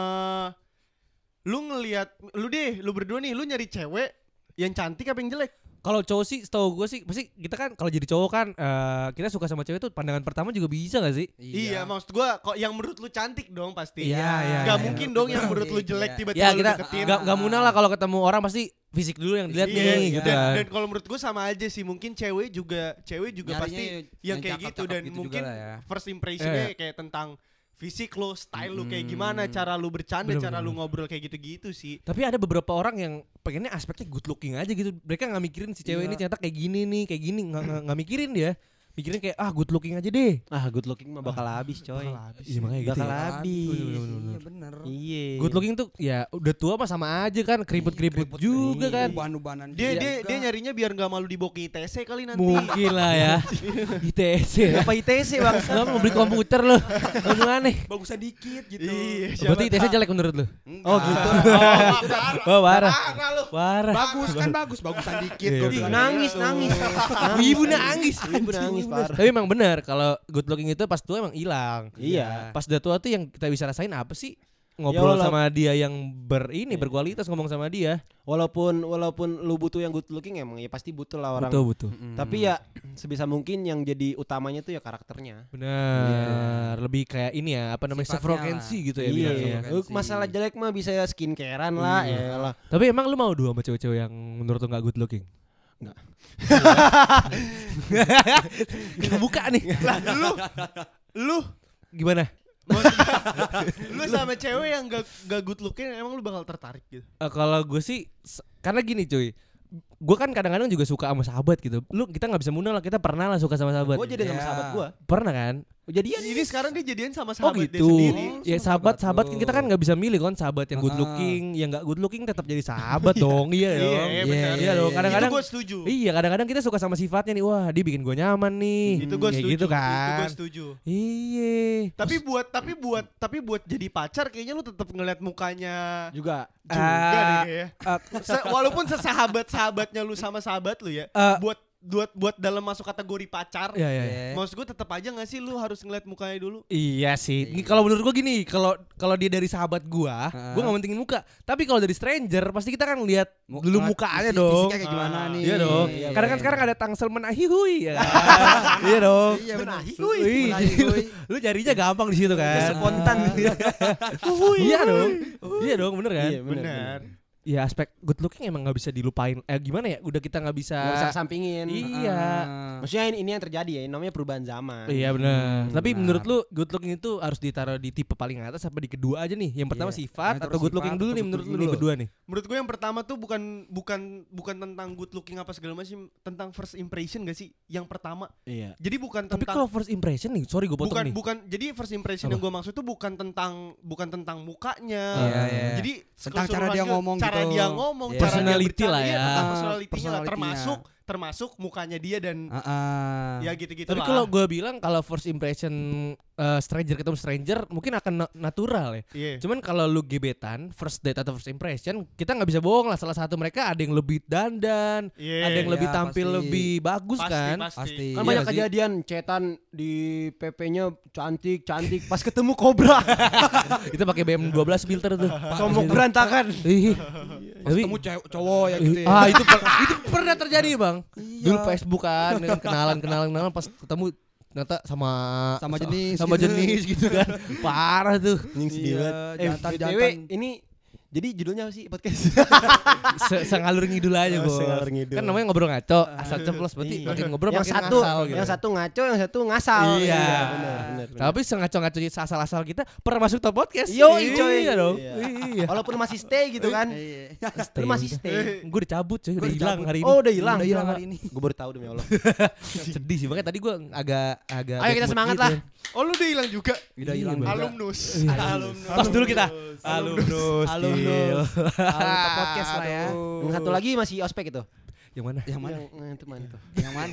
Lu ngelihat lu berdua nih, lu nyari cewek yang cantik apa yang jelek? Kalau cowok sih setahu gue sih pasti kita kan kalau jadi cowok kan kita suka sama cewek tuh pandangan pertama juga bisa gak sih? Iya, maksud gua kok yang menurut lu cantik dong pasti. Iya, Gak iya. mungkin dong yang menurut lu jelek Iya. tiba-tiba Ya lu kita deketin. gak munah lah kalau ketemu orang pasti fisik dulu yang dilihat Iya, nih gitu dan, kan. dan kalau menurut gue sama aja sih, mungkin cewek juga Nyarinya pasti yang kayak gitu, cakep-cakep dan gitu mungkin juga lah ya. first impressionnya kayak tentang fisik lo, style lo kayak gimana, cara lu bercanda, Bener, cara bener. lu ngobrol kayak gitu-gitu sih. Tapi ada beberapa orang yang pengennya aspeknya good looking aja gitu. Mereka nggak mikirin si cewek ini ternyata kayak gini nih, kayak gini, nggak mikirin dia. mikirin kayak good looking aja deh. Good looking mah bakal habis coy. Iya makanya gitu. Bakal Ya. habis. Iya bener. Iya. Good looking tuh ya udah tua mah sama aja kan, keriput-keriput juga kan. Uban-ubanan Dia nyarinya biar nggak malu dibawa ke ITC kali nanti. Mungkin lah ya. ITC. Apa ITC bang? Lo mau beli komputer lo. Ngomong aneh. bagusnya dikit gitu. Iya. Berarti ITC jelek menurut lo? Oh gitu. Oh parah. Lu. Parah. Bagusan dikit. Iya, gua iya. bilang. Nangis. Ibu nangis. Ibu nangis parah. Tapi emang benar kalau good looking itu pas tua emang hilang. Iya. Pas udah tua tuh yang kita bisa rasain apa sih? Ya, Ngobrol sama dia yang berkualitas, ngomong sama dia. Walaupun lu butuh yang good looking emang ya pasti butuh lah orang. Betul. Tapi ya sebisa mungkin yang jadi utamanya tuh ya karakternya. Benar. Lebih kayak ini ya, apa namanya, Sifatnya self-frequency gitu ya. Iya. bilangnya. Frekuensi. Masalah jelek mah bisa ya skincarean lah, elah. Tapi emang lu mau dua sama cewek-cewek yang menurut lu gak good looking? Enggak. Kebuka nih. Lu Gimana? lu sama cewek yang gak good looking emang lu bakal tertarik gitu. Kalau gue sih karena gini cuy. Gue kan kadang-kadang juga suka sama sahabat gitu. Kita nggak bisa munafik lah, kita pernah lah suka sama sahabat. Gue jadi sama Iya. sahabat gue. Pernah kan? Jadian Ini sekarang dia jadian sama Oh sahabat dia gitu. sendiri. Ya sama sahabat sahabat kita kan lu. nggak bisa milih kan, sahabat yang good looking, yang nggak good looking tetap jadi sahabat dong. Iya dong. Iya, benar. Iya dong. Kadang-kadang Itu gue setuju. iya, kadang-kadang kita suka sama sifatnya nih. Wah, dia bikin gue nyaman nih. Itu gue Kayak setuju. gitu Itu kan. gue setuju. Iya. Tapi buat jadi pacar kayaknya lu tetap ngeliat mukanya juga. juga deh kayaknya. Ah, Walaupun sesahabat-sahabatnya lu sama sahabat lu ya, Ah. buat dalam masuk kategori pacar. Iya, iya. Maksud gue tetap aja gak sih lu harus ngeliat mukanya dulu? Iya sih. Ini kalau menurut gua gini, kalau dia dari sahabat gua nggak mentingin muka. Tapi kalau dari stranger pasti kita kan lihat dulu mukanya dong. Fisiknya kayak gimana nih? Iya dong. Iya, Karena kan iya. sekarang ada tangsel menahihui ya kan. Iya dong. Iya benar. Wih, lu carinya gampang di situ kan. Spontan. Iya dong. Iya dong, bener kan? Iya, benar. Ya aspek good looking emang nggak bisa dilupain. Gimana ya? Udah kita nggak bisa. Nggak bisa sampingin. Iya. Maksudnya ini yang terjadi ya, ini namanya perubahan zaman. Iya benar. Tapi benar. menurut lu good looking itu harus ditaruh di tipe paling atas apa di kedua aja nih? Yang pertama Iya. sifat Yang atau good looking sifat dulu atau nih good menurut lu looking nih dulu? berdua nih? Menurut gue yang pertama tuh bukan tentang good looking apa segala macam, tentang first impression gak sih? Yang pertama. Iya. Jadi bukan Tapi tentang kalau first impression nih, sorry gue potong nih. bukan jadi first impression Apa? yang gue maksud tuh bukan tentang mukanya. Iya, iya. Jadi Tentang cara dia keseluruhan ngomong cara gitu. dia ngomong, Iya. cara dia Personality bercanda, lah iya, ya. tentang personality-nya lah, Personality-nya. termasuk mukanya dia dan ya gitu-gitu Tapi lah. kalau gue bilang kalau first impression stranger ketemu stranger mungkin akan natural ya. Iya. Cuman kalau lu gebetan, first date atau first impression, kita nggak bisa bohong lah. Salah satu mereka ada yang lebih dandan, Iya. ada yang lebih Iya, tampil pasti. lebih bagus kan. Pasti. Kan Iya banyak sih. kejadian cetan di PP-nya cantik pas ketemu kobra. Kita pakai BM 12 filter tuh. Tombok berantakan. Ih. Pas Tapi ketemu cowok ya gitu ya. itu itu pernah terjadi bang. Dulu Facebook kan dengan kenalan pas ketemu ternyata sama jenis gitu kan. Parah tuh. Iya, jantan-jantan. BTW ini jadi judulnya apa sih podcast? Sengalur ngidul aja bos. sengalur ngidul. Kan namanya ngobrol ngaco, asal ceplos berarti Iya. makin ngobrol yang makin satu ngasal gitu. yang satu ngaco, yang satu ngasal. Iya. benar. Tapi sengaco-ngaco asal-asal kita pernah masuk top podcast. Yoi, coy. Iya dong. Iya. Iya. Walaupun masih stay gitu kan. Lu masih stay. Gue udah cabut cuy, udah Gua hilang cabut. hari ini. Oh, udah hilang. Udah hilang hari ini. Gue baru tahu demi Allah. Sedih sih, makanya tadi gue agak Ayo bad kita mood semangat gitu. lah. Oh lu udah hilang juga. Udah hilang Iya, juga. Alumnus. Tos dulu kita. Alumnus. Alumni podcast lah ya. Yang satu lagi masih ospek itu. Yang mana? Yang mana? Itu mana tuh? Yang mana?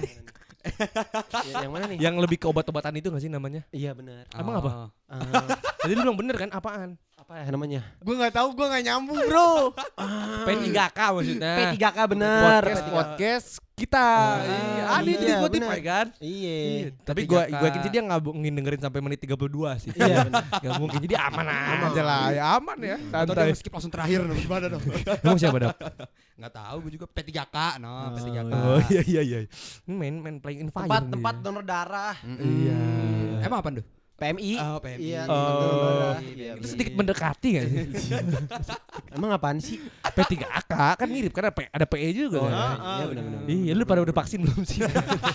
Yang mana nih? Yang lebih ke obat-obatan itu gak sih namanya? Iya benar. Emang apa? Tadi lu bilang bener kan? Apaan? Apa ya namanya? Gue nggak tahu, gue nggak nyambung bro. P3K maksudnya. P3K benar. Podcast kita. Iya, ada itu di iya, Spotify bener. kan? Iya. Tapi gue yakin sih dia nggak dengerin sampai menit 32 sih. Iya. Gak mungkin, jadi aman aja lah. Ya aman ya. Atau Santai. dia skip langsung terakhir gimana dong? Emang siapa dok? Enggak tahu gue juga P3K no, P3K. Oh iya. Ini main playing in fire. Tempat donor darah. Iya. Emang apa tuh? PMI. Oh, PMI. Iya, Oh. donor darah. Iya, Itu bener. sedikit mendekati gak sih? Emang apaan sih? P3K kan mirip karena ada PE juga kan? Iya benar-benar. Iya, lu pada udah vaksin belum sih?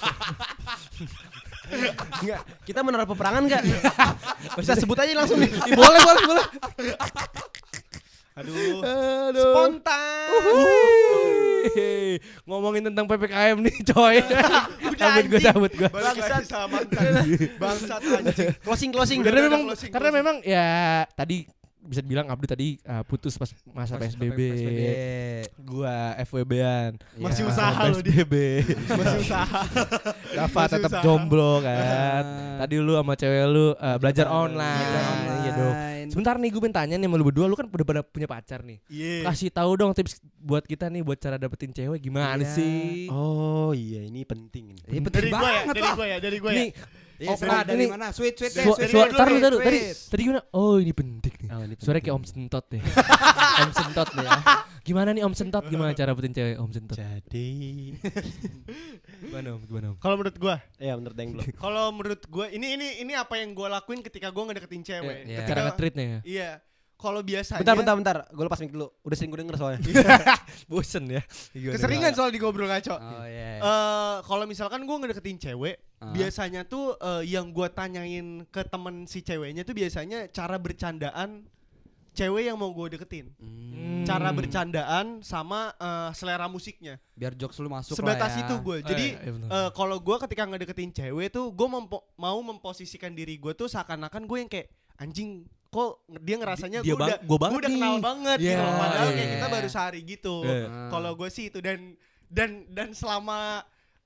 Enggak, kita menara peperangan enggak? Bisa sebut aja langsung nih. boleh. Aduh. Spontan. Oke, ngomongin tentang PPKM nih coy. cabut gue. Bangsat sama bangsat anjing. Closing. Karena memang ya tadi bisa dibilang Abdu tadi putus pas masa PSBB. Gua FWB-an. Masih usaha lo dia. PSBB. Masih usaha. Dapat tetap jomblo kan. Tadi lu sama cewek lu belajar online. Iya dong. Sebentar nih gue pengen tanya nih sama lu berdua, lu kan udah pada punya pacar nih. Kasih tahu dong tips buat kita nih buat cara dapetin cewek gimana sih? Oh iya, ini penting ini. Ini penting banget lah. Dari gue ya. Dari mana? Sweet deh. Tadi gimana? Oh ini penting nih. Suaranya kayak Om Sentot deh. Om Sentot deh ya. Gimana nih Om Sentot? Gimana cara dapetin cewek Om Sentot? Jadi Gimana Om? Kalau menurut gue, ya menurut Deng belum. kalau menurut gue ini apa yang gue lakuin ketika gue ngedeketin cewek. Iya. Cara nge-treatnya ya. Iya. Kalau biasanya Bentar. Gue lepas mic dulu. Udah sering gue denger soalnya. Bosen ya. keseringan soal digobrol ngaco. Oh iya. Kalau misalkan gue ngedeketin cewek, biasanya tuh yang gue tanyain ke temen si ceweknya tuh biasanya cara bercandaan cewek yang mau gue deketin. Cara bercandaan sama selera musiknya. Biar jokes lu masuk Sebatas lah ya. itu gue. Jadi iya kalau gue ketika ngedeketin cewek tuh gue mau memposisikan diri gue tuh seakan-akan gue yang kayak anjing, kok dia ngerasanya gue udah kenal banget gitu. Padahal kayak kita baru sehari gitu. Kalau gue sih itu dan selama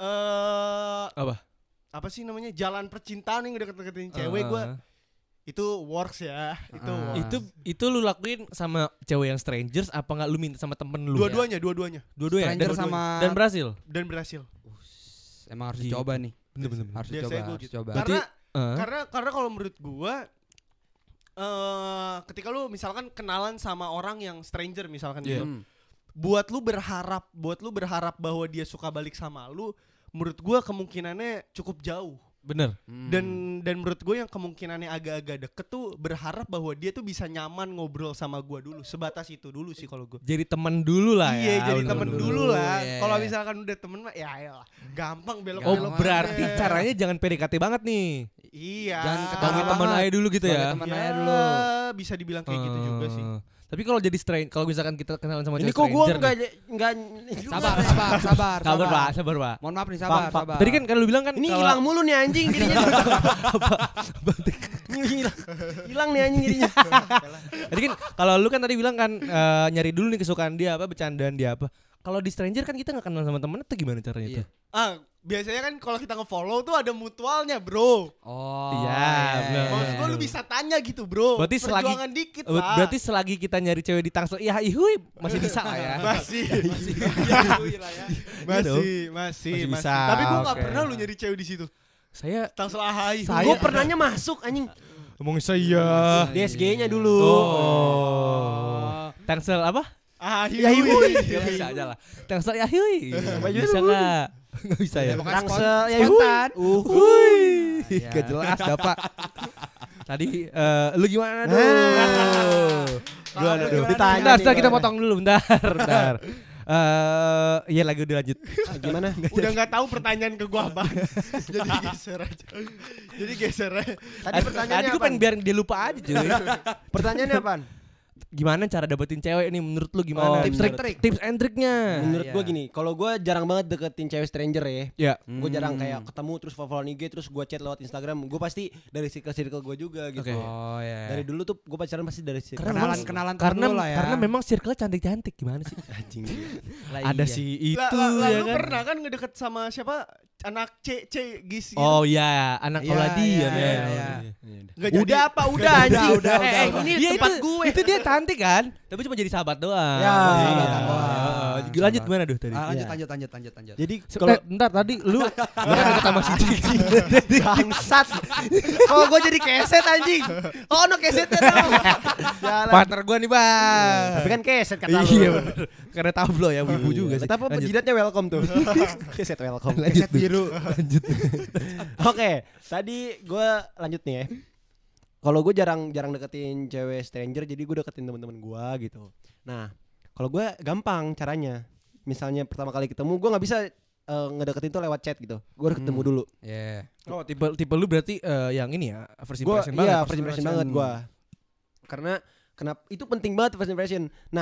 apa sih namanya jalan percintaan yang deket-deketin cewek gue itu works ya. Itu lu lakuin sama cewek yang strangers apa enggak lu minta sama temen lu? Dua-duanya. Stranger sama dan berhasil. Emang harus dicoba nih. Bener. Harus Biasanya dicoba. Karena kalau menurut gue ketika lu misalkan kenalan sama orang yang stranger misalkan gitu, buat lu berharap bahwa dia suka balik sama lu, menurut gua kemungkinannya cukup jauh. Bener. Dan menurut gue yang kemungkinannya agak-agak deket tuh berharap bahwa dia tuh bisa nyaman ngobrol sama gua dulu. Sebatas itu dulu sih kalau gue. Jadi teman dulu lah ya. Iya, jadi teman dulu lah. Yeah. Kalau misalkan udah temen mah ya ayolah, gampang belok. Oh berarti caranya jangan PDKT banget nih. Iya. Jangan Sebagai teman aja dulu gitu ya. Teman aja dulu. Bisa dibilang kayak gitu juga sih. Tapi kalau jadi kalau misalkan kita kenalan sama Ini cewek kok gue stranger enggak Sabar. Sabar, Pak. Mohon maaf nih, sabar. nih. Tadi kan lu bilang kan ini kalau- hilang mulu nih anjing jadinya. Hilang nih anjing jadinya. Tadi kan kalau lu kan tadi bilang kan nyari dulu nih kesukaan dia apa, bercandaan dia apa. Kalau di stranger kan kita nggak kenal sama temen itu gimana caranya tuh? Biasanya kan kalau kita nge-follow tuh ada mutualnya, bro. Oh. Iya. Maksud gue lu bisa tanya gitu, bro. Berarti perjuangan dikit lah. Berarti selagi kita nyari cewek di Tangsel, ya ihui masih bisa lah ya. Masih bisa. Tapi gue nggak Oke. pernah lu nyari cewek di situ. Saya Tangsel ahai. Gue pernahnya masuk anjing. ngomong saya. DSG-nya dulu. Oh. Tangsel apa? Ahai. Ya bisa aja lah. Tangsel ya hui. Bisa nggak? Nggak bisa ya. Tangsel ya Spontan. Hui. Gak jelas Bapak. Tadi lu gimana tuh? Ditanya Bentar, nih, kita gimana? potong dulu bentar. Iya lagi udah lanjut. Gimana? Udah nggak tahu pertanyaan ke gua apa. Jadi geser aja. Jadi geser aja. Tadi pertanyaannya Tadi gue pengen biar dia lupa aja cuy. Pertanyaannya apaan? Gimana cara dapetin cewek nih menurut lu gimana? Oh, Tips and triknya. Menurut Iya. gue gini, kalau gue jarang banget deketin cewek stranger ya. Ya. Gue jarang kayak ketemu terus follow IG terus gue chat lewat Instagram. Gue pasti dari circle gue juga gitu. Oke. Oh ya. Dari dulu tuh gue pacaran pasti dari circle. kenalan Karena lah ya. karena memang circle cantik-cantik gimana sih? anjing. Ada iya. si itu Lah, ya lu kan. pernah kan ngedeket sama siapa? Anak C Gis gitu. Oh iya, anak Iya, Auladian iya, ya. iya. Nggak jadi. Udah apa? Udah anjing. udah. Ini Iya, tempat itu, gue. Itu dia cantik kan? Tapi cuma jadi sahabat doang. Ya, Iya. sahabatan doang. Lanjut gimana tuh tadi? Lanjut. Jadi Kalau bentar tadi lu kan deket sama si Ciki. bangsat. Oh gue jadi keset anjing. Oh no kesetnya dong. Jalan. Partner gua nih, Bang. Tapi kan keset kata lu. Iya bener. Karena tablo ya, wibu juga sih. Tapi Lanjut. jidatnya welcome tuh. Keset welcome. Lanjut tuh. biru. Oke, tadi gue lanjut nih ya. Kalau gue jarang deketin cewek stranger, jadi gue deketin teman-teman gue gitu. Nah, kalau gue gampang caranya. Misalnya pertama kali ketemu, gue nggak bisa ngedeketin tuh lewat chat gitu. Gue harus ketemu dulu. Iya. Oh, tipe lu berarti yang ini ya, first Gue impression banget. iya first impression banget gue. Karena kenapa itu penting banget first impression. Nah,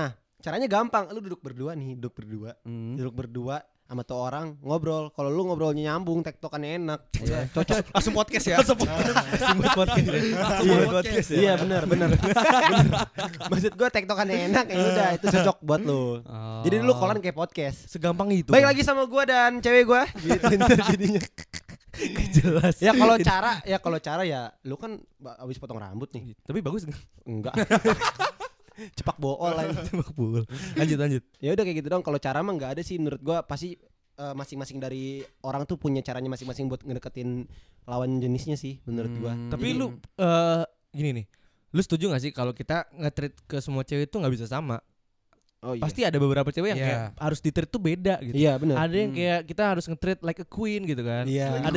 Caranya gampang, lu duduk berdua Duduk berdua sama tuh orang ngobrol. Kalau lu ngobrolnya nyambung, tektokannya enak. Cocok langsung podcast ya. Langsung podcast. Iya benar. Maksud gue tektokannya enak ya udah itu cocok buat lu. Jadi lu kolan kayak podcast. Segampang itu. Baik lagi sama gue dan cewek gue gitu ntar jadinya. Jelas. Ya kalau cara ya lu kan abis potong rambut nih. Tapi bagus Enggak. Cepak bool aja. Lanjut. Ya udah kayak gitu dong. Kalau cara mah nggak ada sih menurut gua, pasti masing-masing dari orang tuh punya caranya masing-masing buat ngedeketin lawan jenisnya sih menurut gua. Tapi lu gini nih. Lu setuju gak sih kalau kita nge-treat ke semua cewek itu gak bisa sama? Oh, iya. Pasti ada beberapa cewek yang kayak harus di-treat tuh beda gitu. Iya benar. Ada yang kayak kita harus nge-treat like a queen gitu kan. Iya. Ada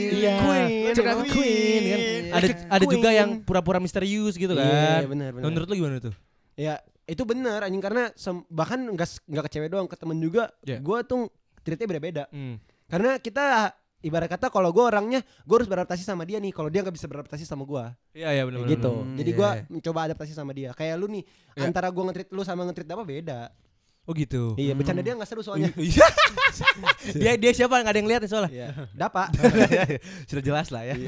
queen kan. Ada juga yang pura-pura misterius gitu kan. Iya benar. Menurut lu gimana tuh? Ya itu benar anjing, karena bahkan nggak ke cewek doang, ke temen juga. Gua tuh treatnya beda-beda. Karena kita ibarat kata kalau gue orangnya gue harus beradaptasi sama dia nih, kalau dia nggak bisa beradaptasi sama gue. Iya benar gitu. Jadi gue mencoba adaptasi sama dia. Kayak lu nih, antara gue nge-treat lu sama nge-treat apa beda. Oh gitu. Iya, bercanda dia nggak seru soalnya. dia siapa, nggak ada yang lihat nih soalnya. Iya. Dapa. Sudah jelas lah ya.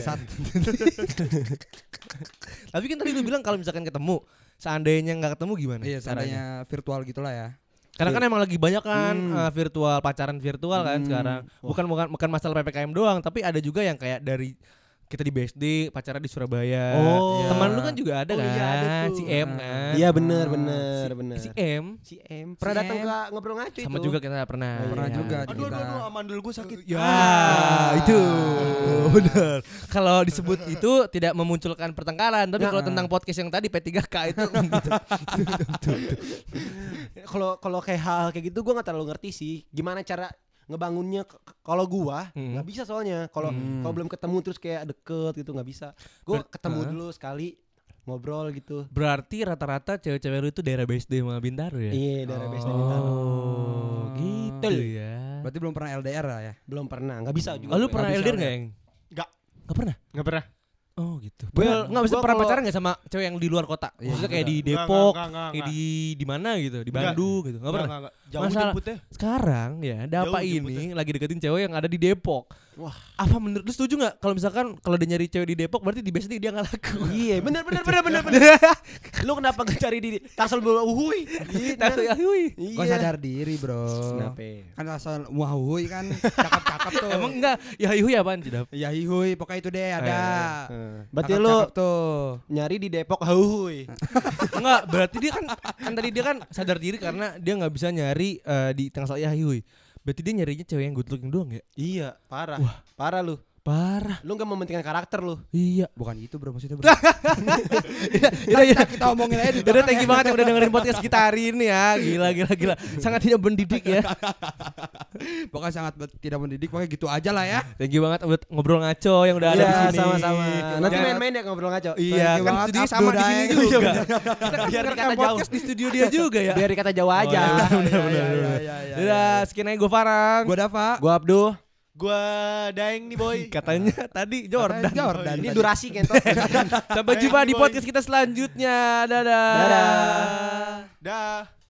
Tapi kan tadi lu bilang kalau misalkan ketemu, seandainya nggak ketemu gimana? Iya, seandainya virtual gitulah ya. Karena kan emang lagi banyak kan virtual, pacaran virtual kan sekarang. Bukan masalah PPKM doang, tapi ada juga yang kayak dari kita di BSD pacaran di Surabaya. Teman lu kan juga ada kan? Iya, ada tuh. Si M kan. Iya benar. Si M pernah datang ke ngobrol ngaco itu. sama juga kita pernah. Pernah juga. Aduh, amandul gue sakit. Ya, itu benar. Kalau disebut itu tidak memunculkan pertengkaran, tapi kalau tentang podcast yang tadi P3K itu Kalau kayak hal kayak gitu gue nggak terlalu ngerti sih. Gimana cara ngebangunnya? Kalau gua nggak bisa soalnya. Kalau belum ketemu terus kayak deket gitu nggak bisa. Gue ketemu dulu sekali, ngobrol gitu. Berarti rata-rata cewek-cewek lu itu daerah BSD sama Bintaro ya? Iya, daerah BSD Bintaro. Oh, gitu ya. Berarti belum pernah LDR lah ya? Belum pernah, nggak bisa juga. Oh, lu pernah LDR nggak, Yang? Nggak pernah. Oh gitu. Well, nggak bisa pernah pacaran nggak sama cewek yang di luar kota? Maksudnya kayak di Depok, kayak di mana gitu, di Bandung gitu. Nggak pernah. Jauh jemputnya. Sekarang ya, Dapa ini lagi deketin cewek yang ada di Depok. Wah, apa menurut lu setuju nggak kalau misalkan kalau dia nyari cewek di Depok berarti di BSD dia nggak laku? Iya, benar. Lu kenapa nggak cari di Tangsel Uhuy? Kok sadar diri, bro. Kenapa? Kan asal Wahuy kan cakep-cakep tuh. Emang enggak? Ya Hihui apaan sih, Dap? Ya hihuy, pokoknya itu deh ada. Berarti Cakep-cakep lu tuh. nyari di Depok Uhuy. Enggak, berarti dia kan tadi dia kan sadar diri karena dia nggak bisa nyari di Tangsel ya Hihui. Berarti dia nyarinya cewek yang good looking doang ya? Iya, parah. Wah. Parah lu. Parah. Lu enggak mementingkan karakter lu. Iya. Bukan gitu, bro, maksudnya, bro. Kita omongin aja. Udah, thank you banget yang udah dengerin podcast kita hari ini ya. Gila. Sangat tidak mendidik ya. Pokoknya sangat tidak mendidik, pokoknya gitu aja lah ya. Thank you banget buat ngobrol ngaco yang udah ada di sini. Sama-sama. Nanti main-main ya ngobrol ngaco. Iya, kan studio sama di sini juga. Biar dikata jauh. podcast di studio dia juga ya. Biar dikata jauh aja. Udah, sekian aja gue Farang. Gue Dava. Gua Abduh. Gua Daeng nih boy. Katanya tadi Jordan. Ini durasi kentot. Sampai jumpa di podcast kita selanjutnya. Dadah. Dah.